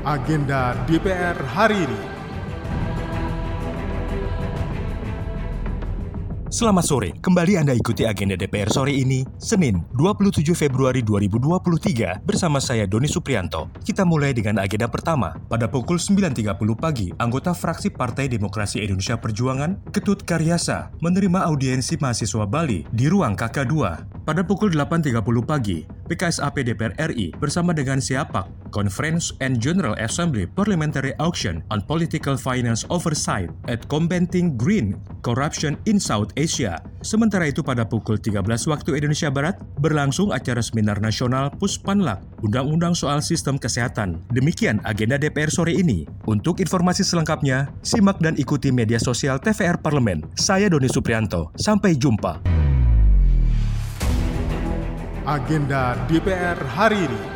Agenda DPR hari ini. Selamat sore, kembali Anda ikuti agenda DPR sore ini, Senin 27 Februari 2023 bersama saya Doni Suprianto. Kita mulai dengan agenda pertama. Pada pukul 9.30 pagi, anggota fraksi Partai Demokrasi Indonesia Perjuangan, Ketut Karyasa, menerima audiensi mahasiswa Bali di ruang KK2. Pada pukul 8.30 pagi, PKSAP DPR RI bersama dengan SIAPAK, Conference and General Assembly Parliamentary Auction on Political Finance Oversight at Combating Green Corruption in South Asia. Sementara itu pada pukul 13 waktu Indonesia Barat, berlangsung acara seminar nasional Puspanlak, Undang-Undang soal Sistem Kesehatan. Demikian agenda DPR sore ini. Untuk informasi selengkapnya, simak dan ikuti media sosial TVR Parlemen. Saya Doni Suprianto. Sampai jumpa. Agenda DPR hari ini.